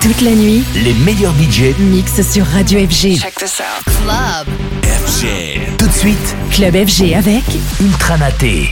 Toute la nuit, les meilleurs budgets mixent sur Radio FG. Check this out. Club FG. Tout de suite, Club FG avec Ultra Naté.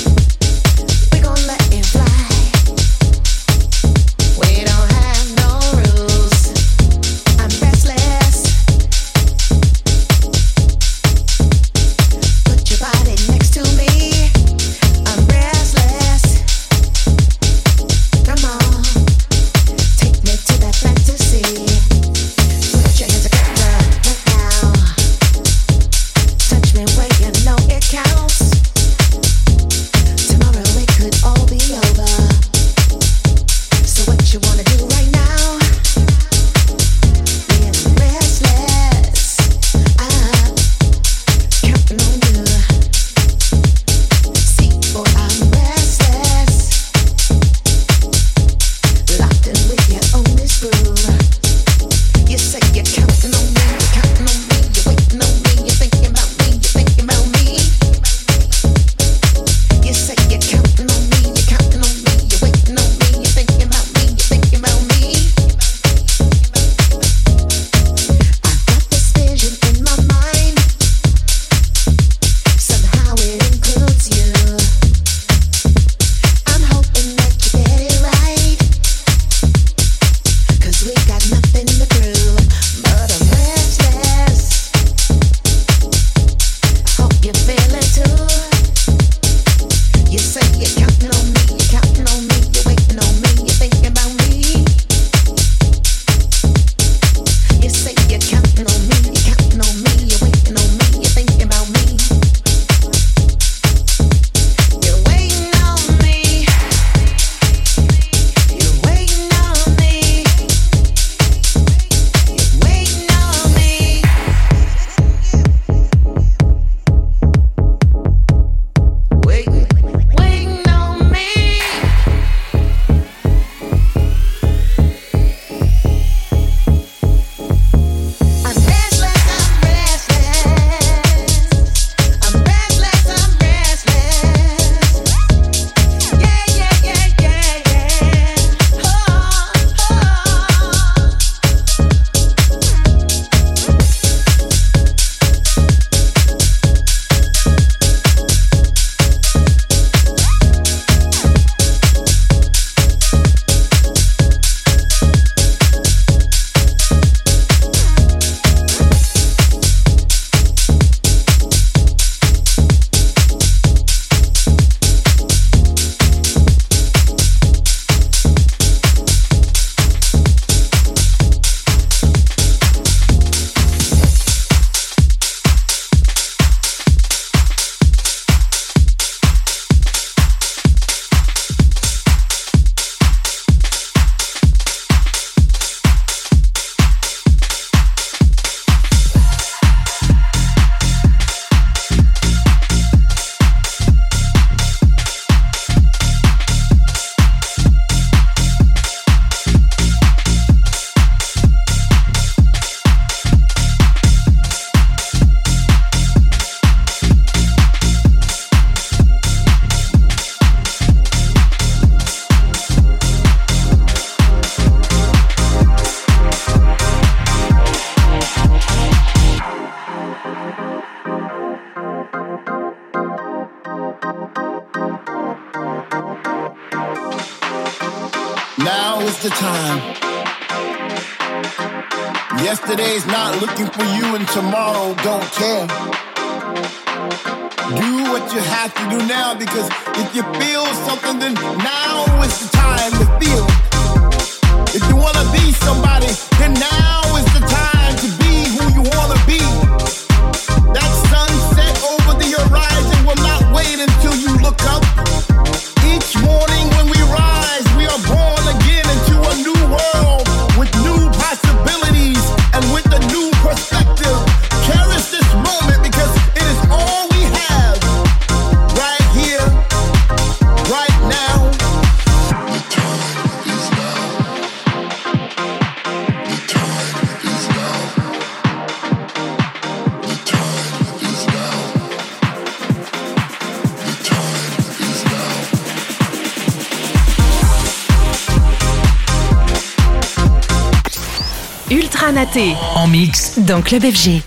We don't have no is the time. Yesterday's not looking for you and tomorrow don't care. Do what you have to do now, because if you feel something, then now is the time to feel it. If you want to be somebody, then now is the time to be who you want to be. That sunset over the horizon will not wait until you look up. Each morning when we rise, we are born again into a new world with new possibilities and with a new perspective. Cherish this moment because it is all we have right here, right now. The time is now. The time is now. The time is now. The time is now. Ultra Naté En mix dans Club FG.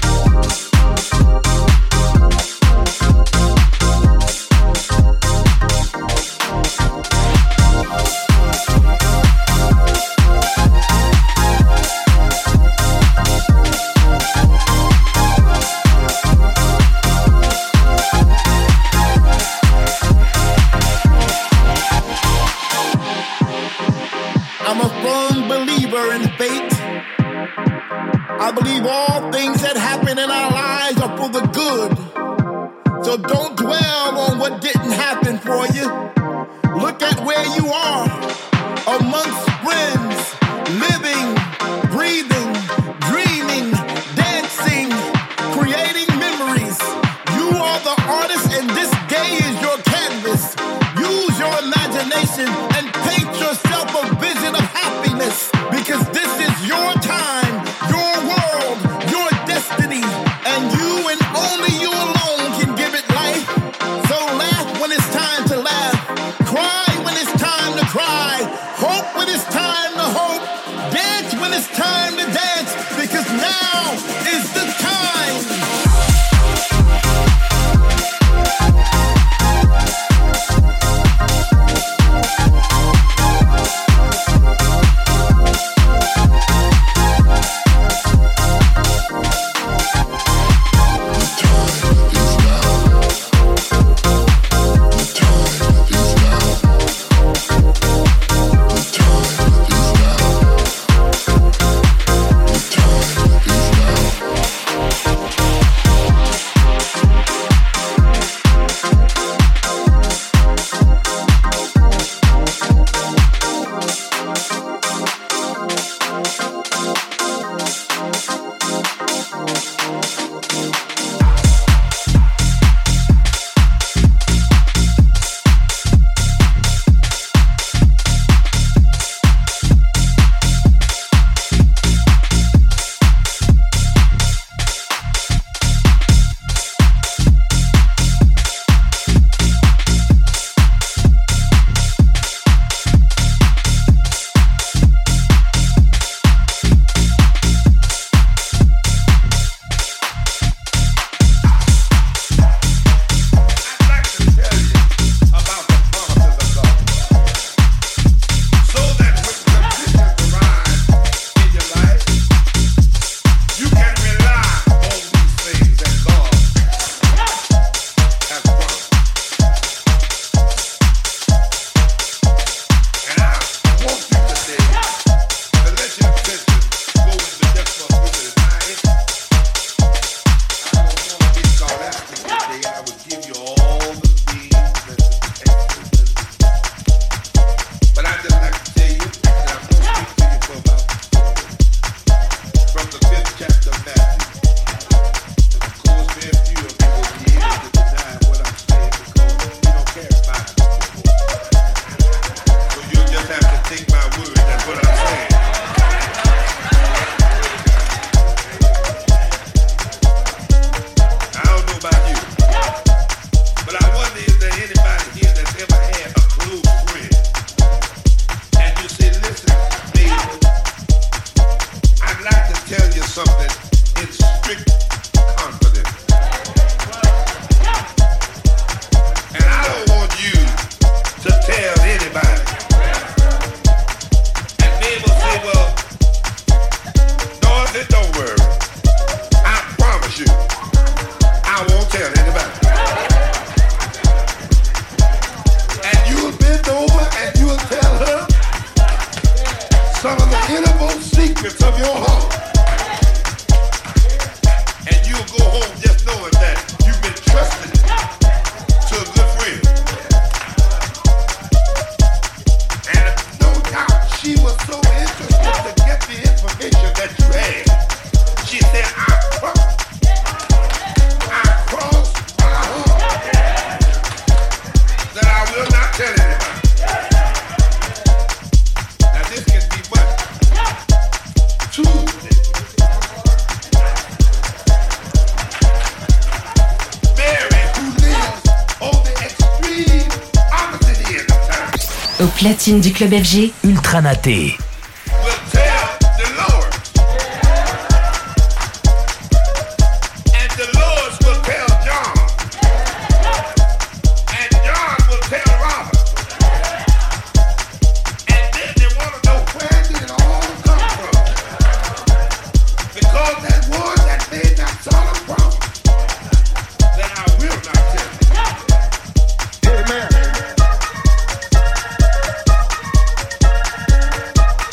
I'm a firm believer in fate. I believe all things that happen in our lives are for the good. So don't dwell on what didn't happen for you. Look at where you are, amongst friends, living, breathing, dreaming, dancing, creating memories. You are the artist and this day is your canvas. Use your imagination and paint yourself a vision of happiness, because this is your time, your world, your destiny, and you and only you alone can give it life. So laugh when it's time to laugh, cry when it's time to cry. tell anybody. And you'll bend over and you'll tell her some of the innermost secrets of your heart. And you'll go home just knowing that you've been trusted to a good friend. And no doubt she was so interested to get the information that you had. She said, I crossed my heart that I will not tell anybody. Now this can be what? Tuesday. Mary, who lives on the extreme opposite end of town, Au platine du Club FG, Ultra Naté. will tell Dolores. And Dolores will tell John. And John will tell Robert. And then they want to know where did it all come from. Because that one that made that solemn promise that I will not tell you. Amen.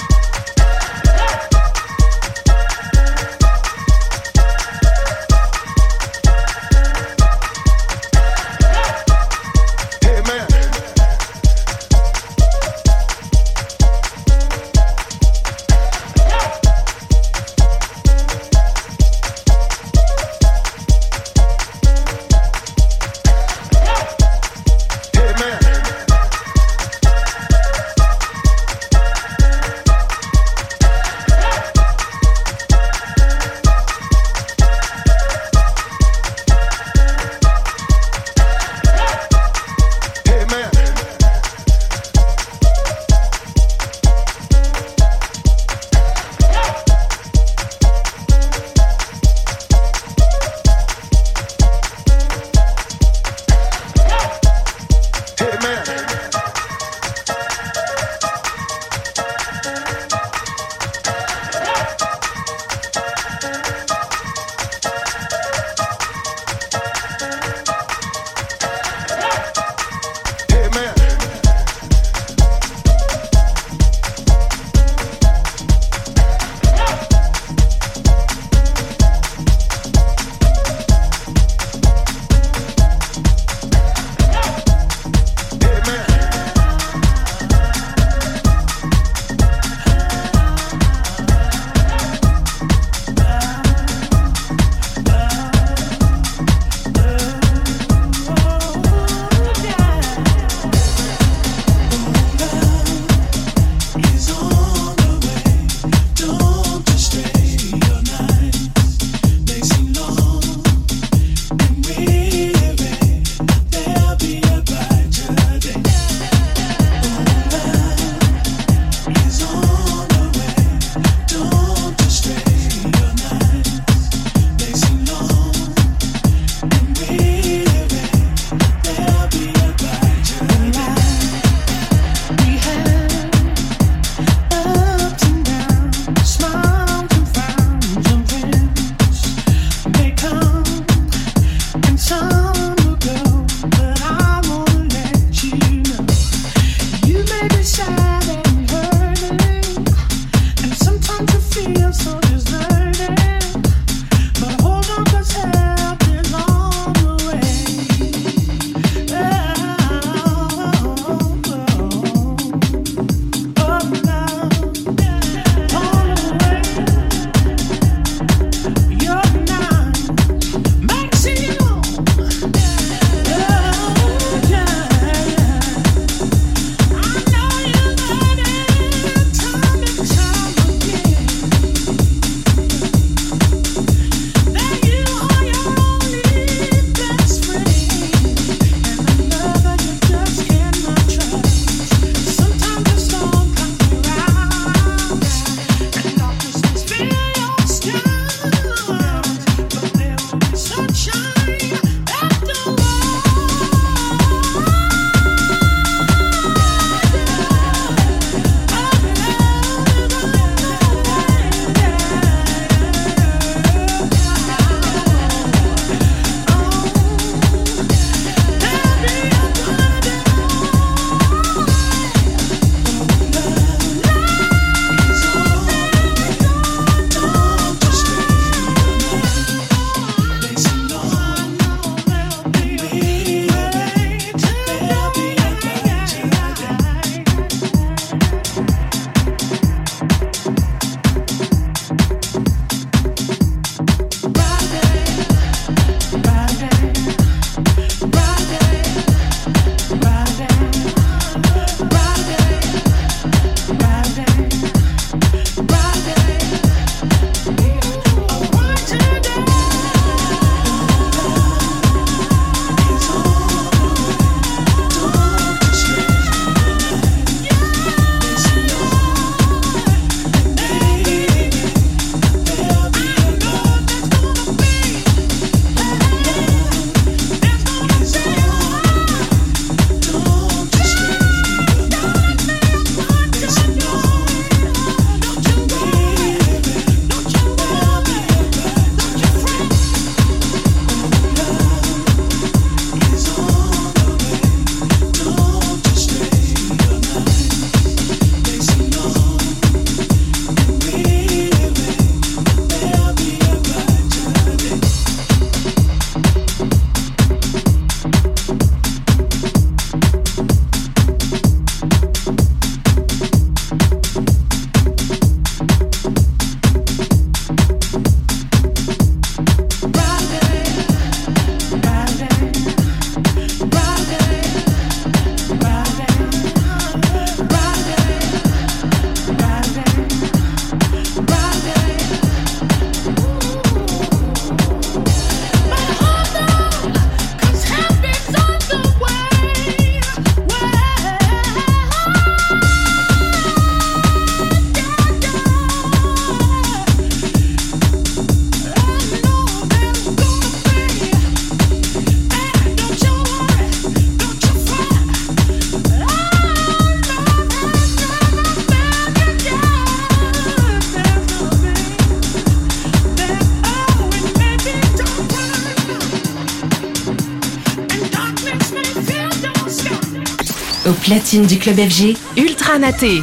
Au platine du club FG, Ultra Naté.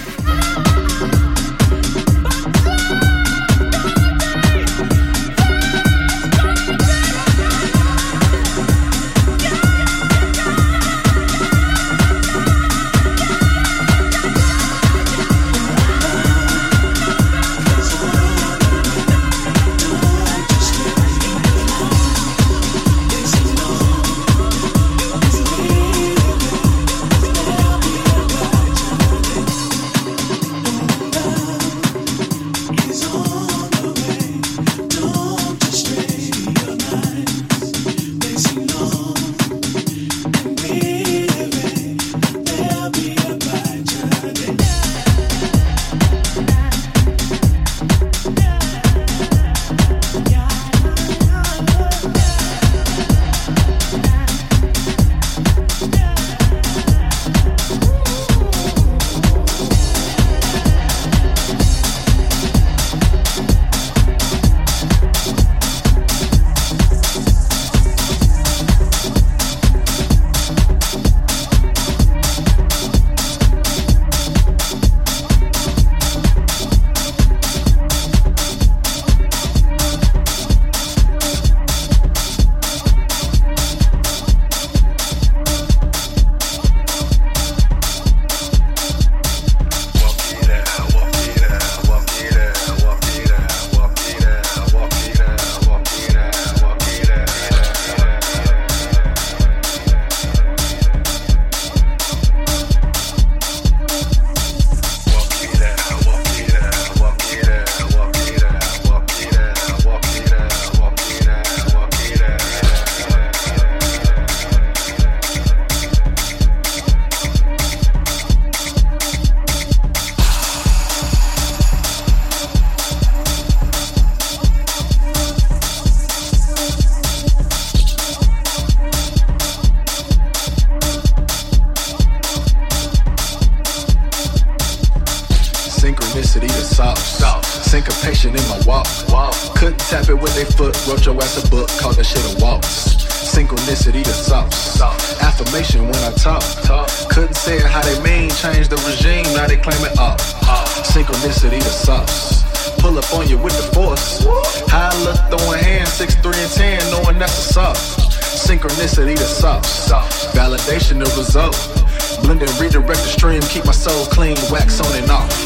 Synchronicity the sauce. Syncopation in my walk. Couldn't tap it with their foot. Wrote your ass a book. Called that shit a waltz. Synchronicity the sauce. Affirmation when I talk. Couldn't say it how they mean. Change the regime. Now they claim it up. Synchronicity the sauce. Pull up on you with the force. High look throwing hands. 6, 3, and 10. Knowing that's a sauce. Synchronicity the sauce. Validation the result. Blend and redirect the stream. Keep my soul clean. Wax on and off.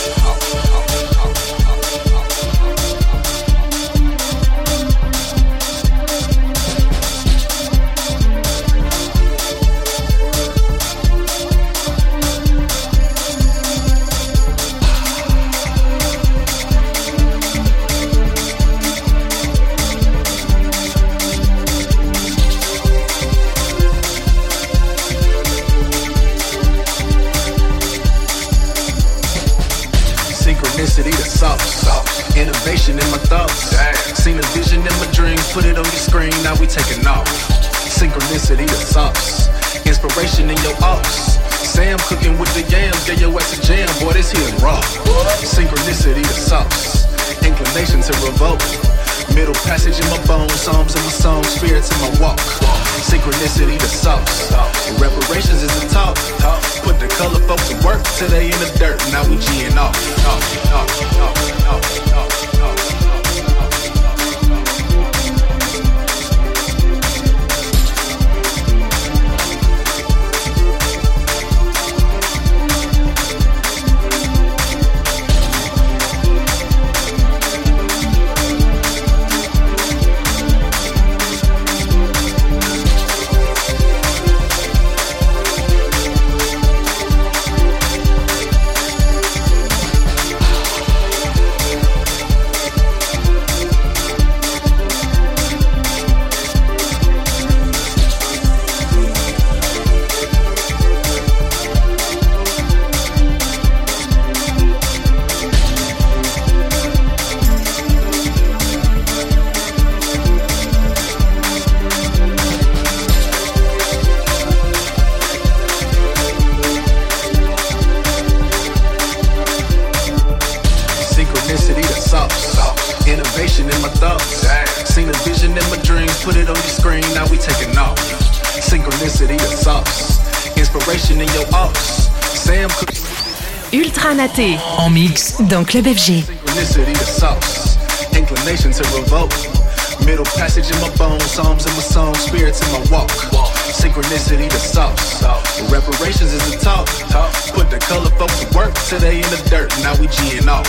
Synchronicity the sauce. Innovation in my thoughts. Seen a vision in my dreams. Put it on your screen. Now we taking off. Synchronicity the sauce. Inspiration in your ops. Sam cooking with the yams. Get your ass a jam. Boy, this here raw. Synchronicity the sauce. Inclination to revolt. Middle passage in my bones. Psalms in my song. Spirits in my walk. Synchronicity the sauce. Reparations is the talk. Put the color folks to work till they in the dirt. Now we G'ing off. Innovation in my thoughts. Seen a vision in my dreams. Put it on your screen. Now we taking off. Synchronicity the sauce. Inspiration in your ups. Sam Cooke. Ultra Naté. En mix dans Club FG. Synchronicity the sauce. Inclination to revoke. Middle passage in my bones, psalms in my song, spirits in my walk. Synchronicity the sauce. Reparations is the talk. Put the color folks to work till they in the dirt. Now we G'ing off.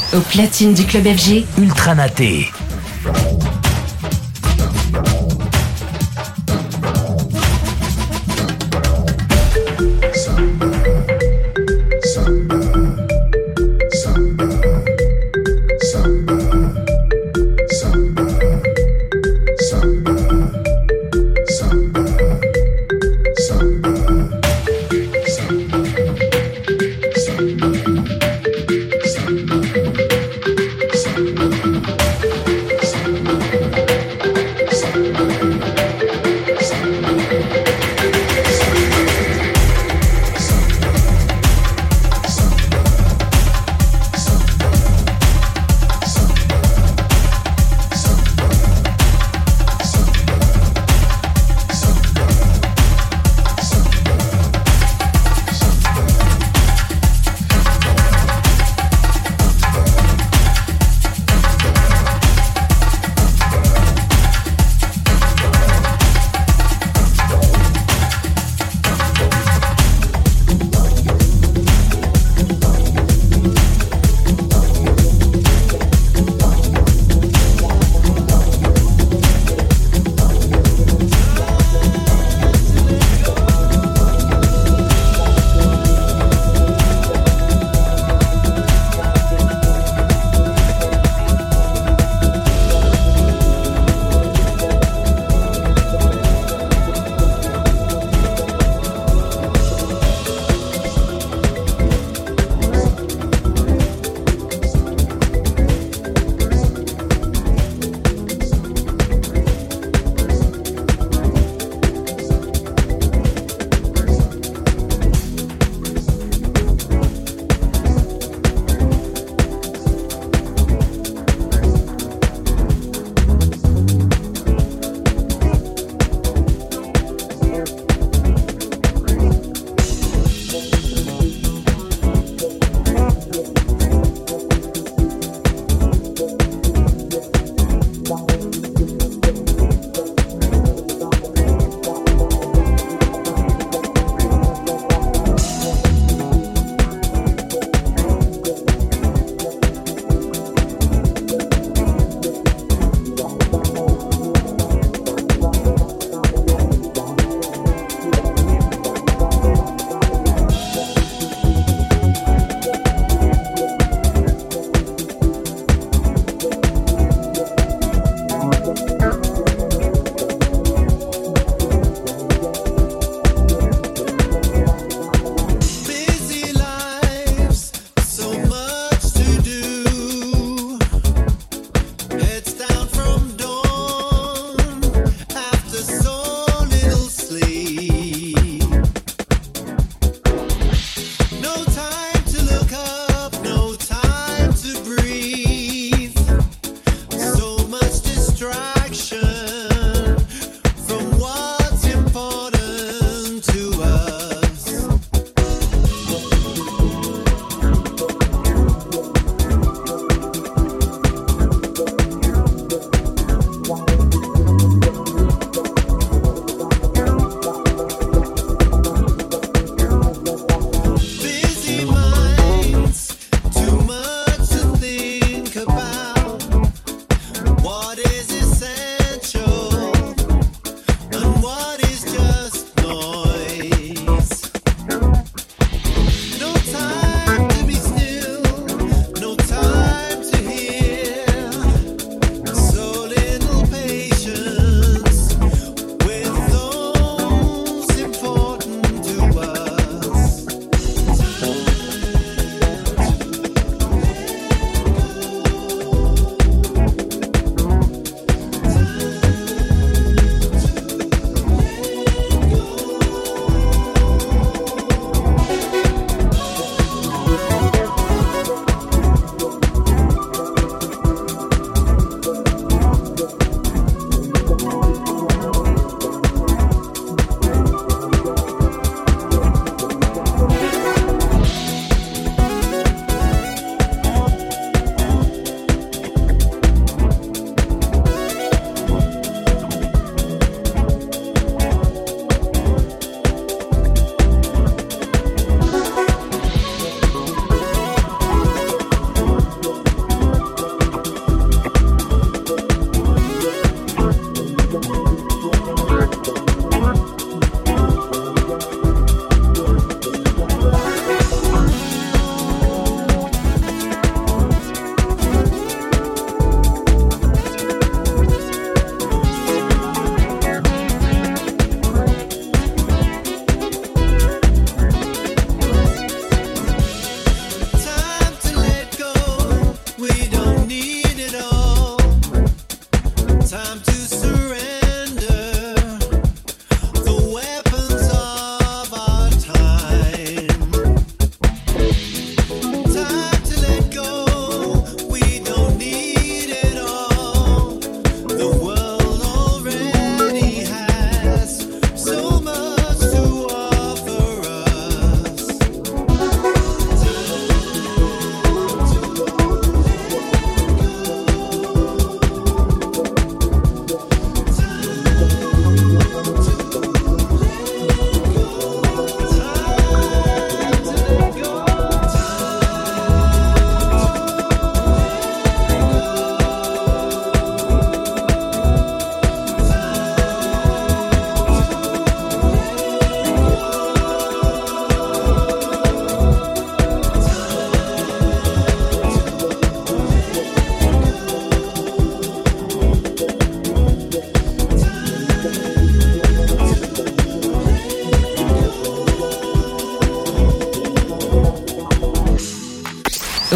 Au platine du club FG, Ultra Naté.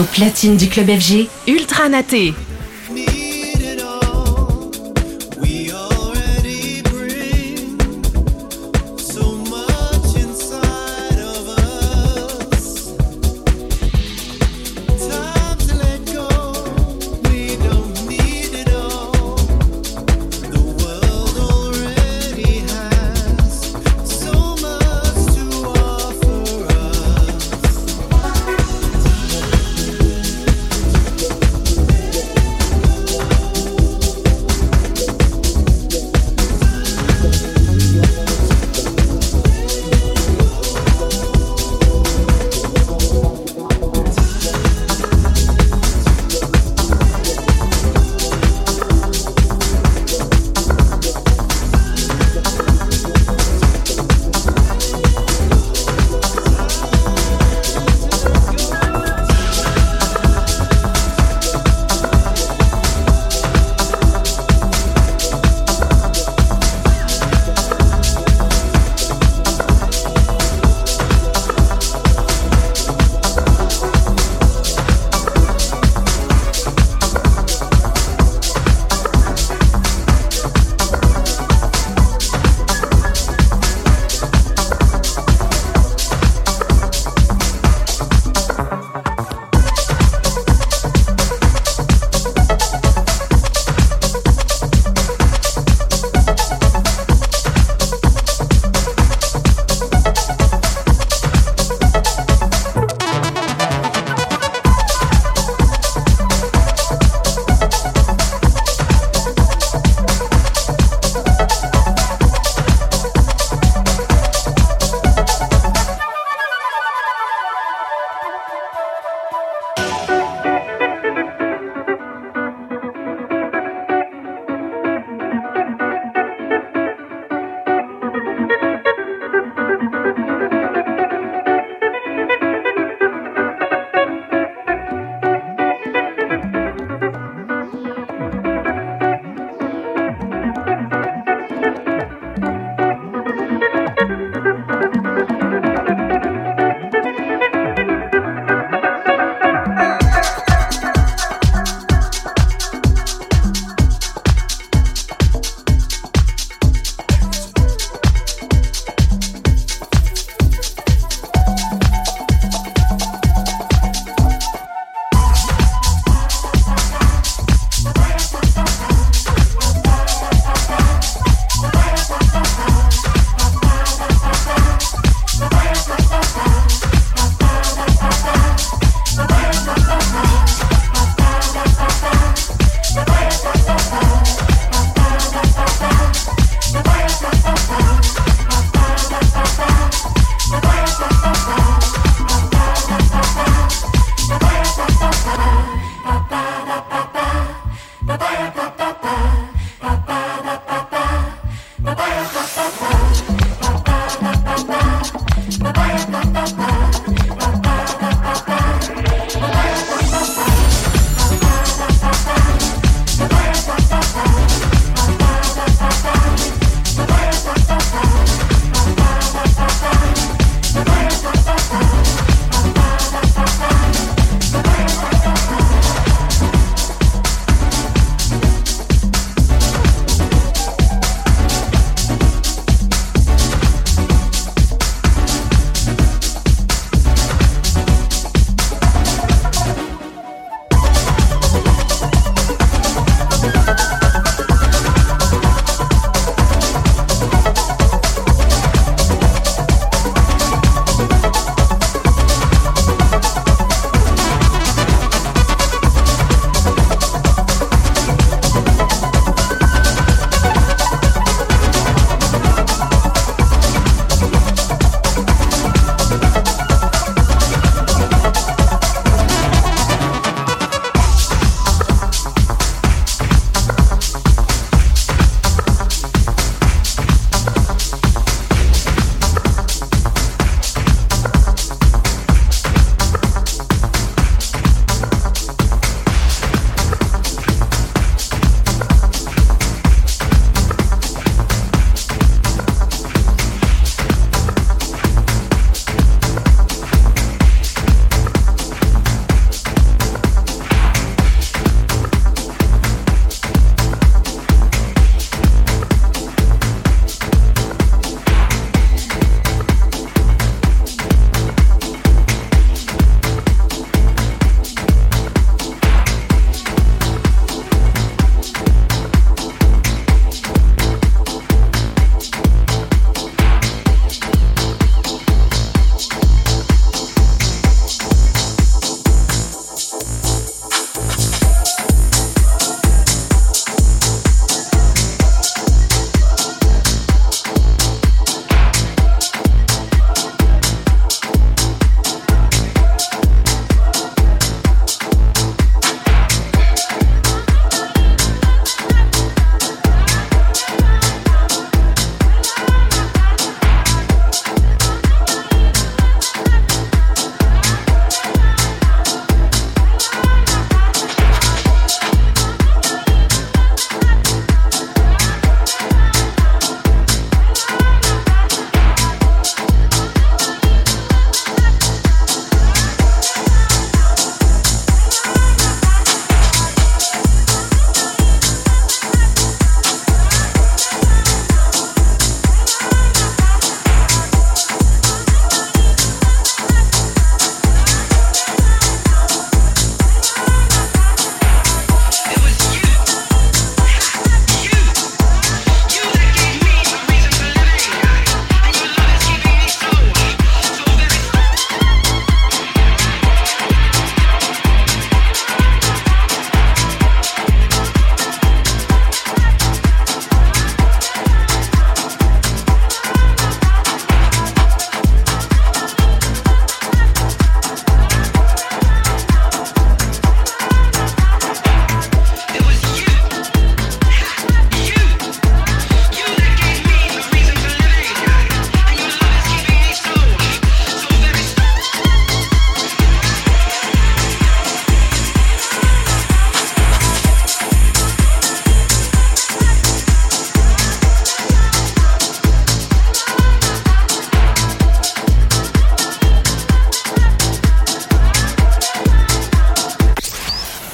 Au platine du Club FG, Ultra Naté.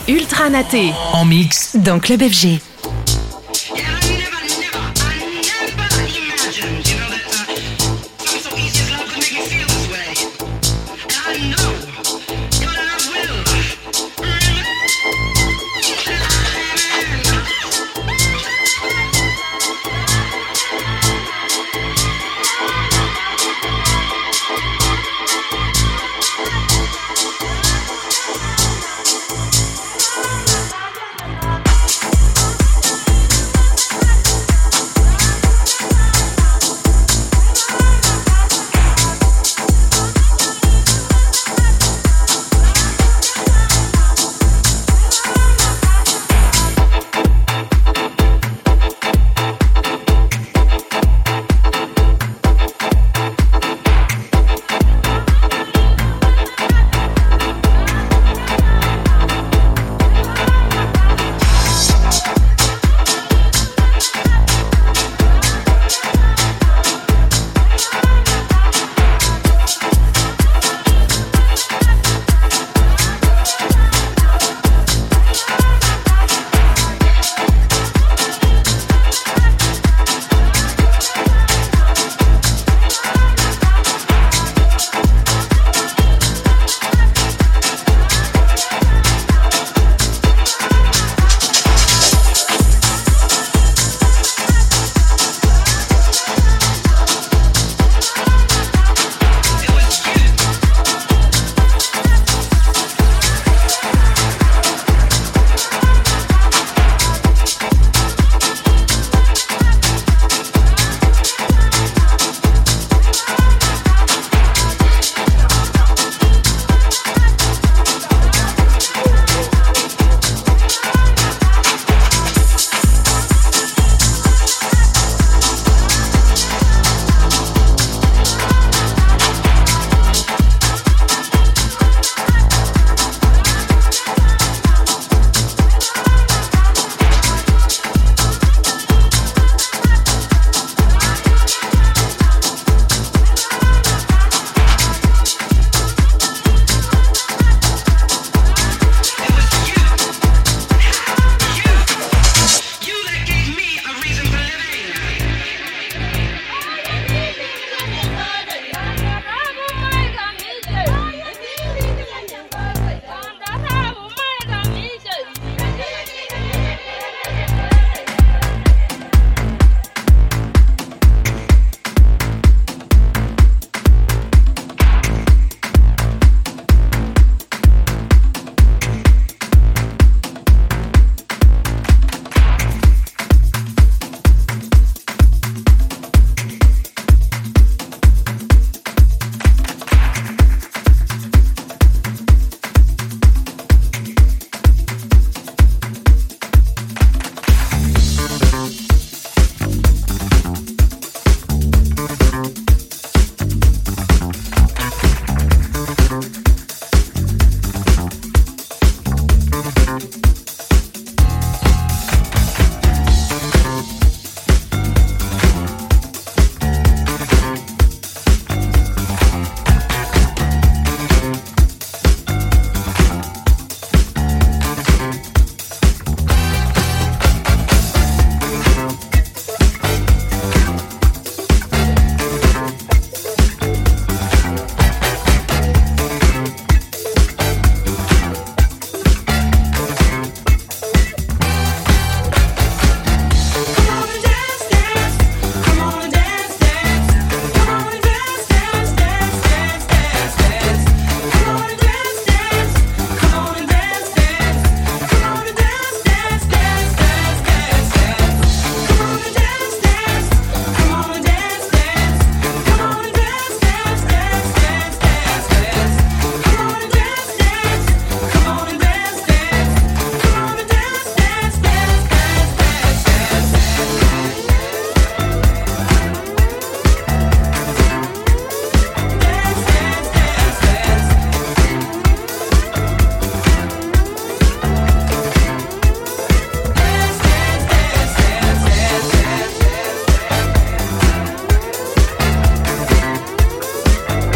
Ultra Naté. En mix dans Club FG.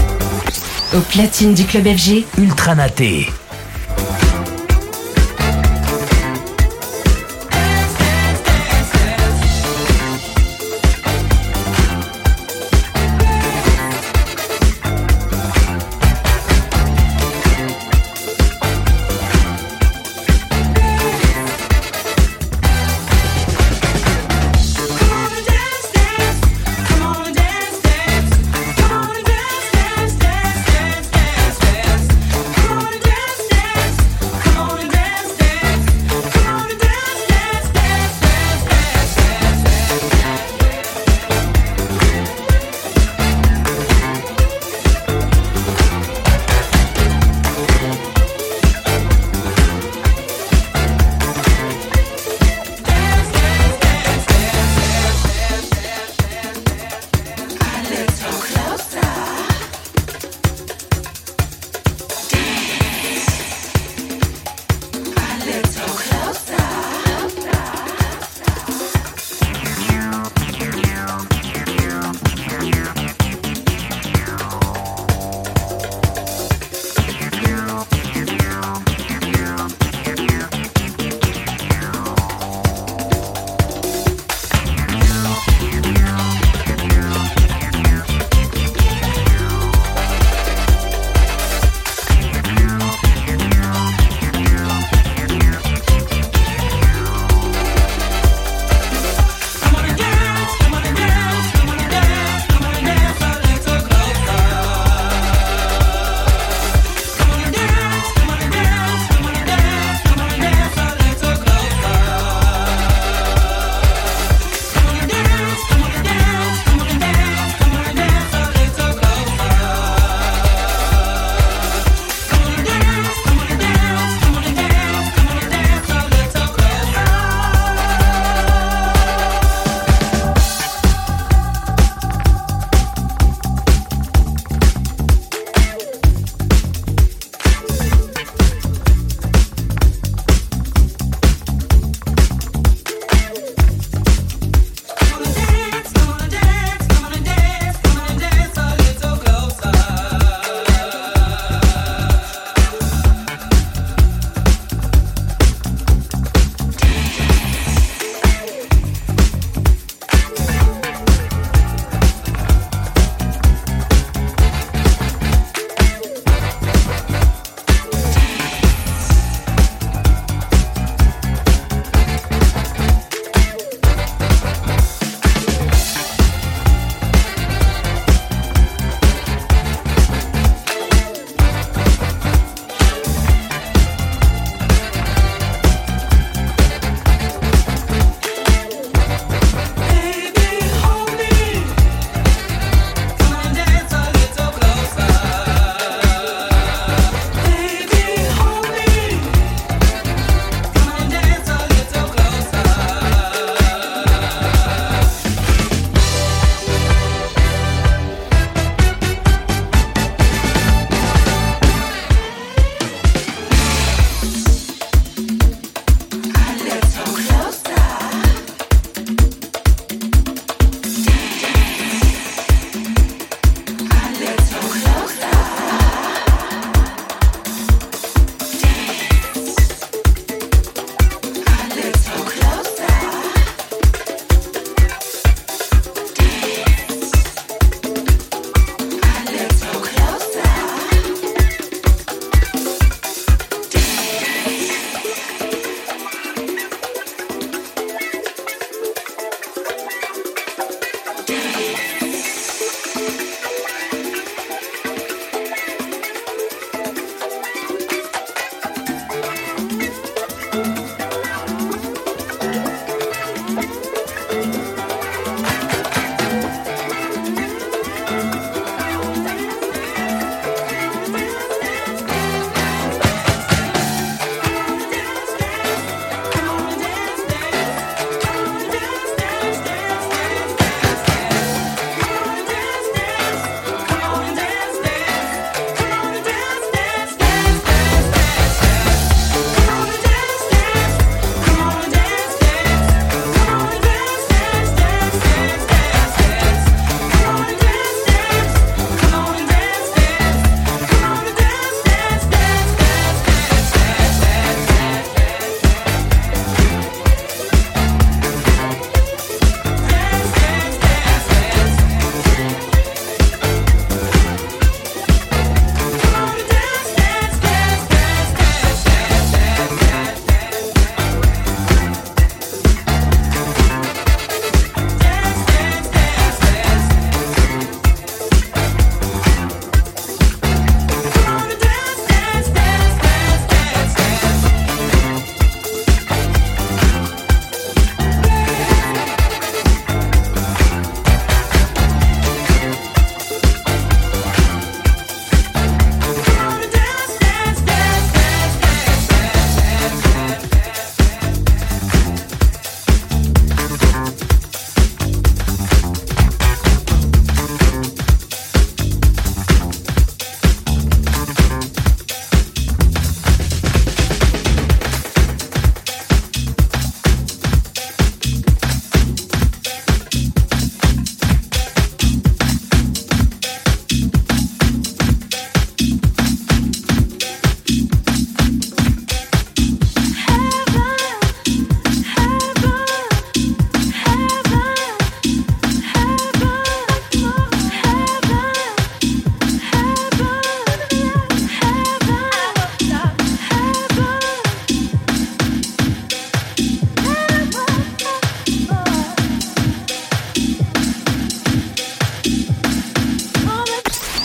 Au platine du Club FG, Ultra Naté.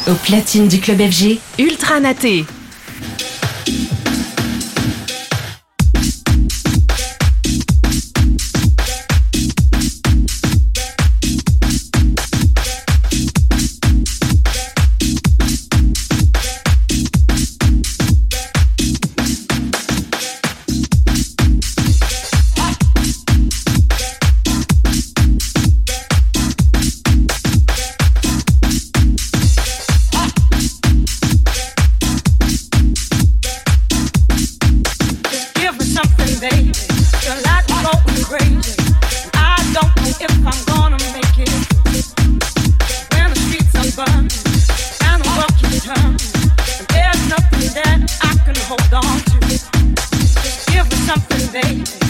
Au platine du club FG, Ultra Naté. Hold on to. Just give me something, baby.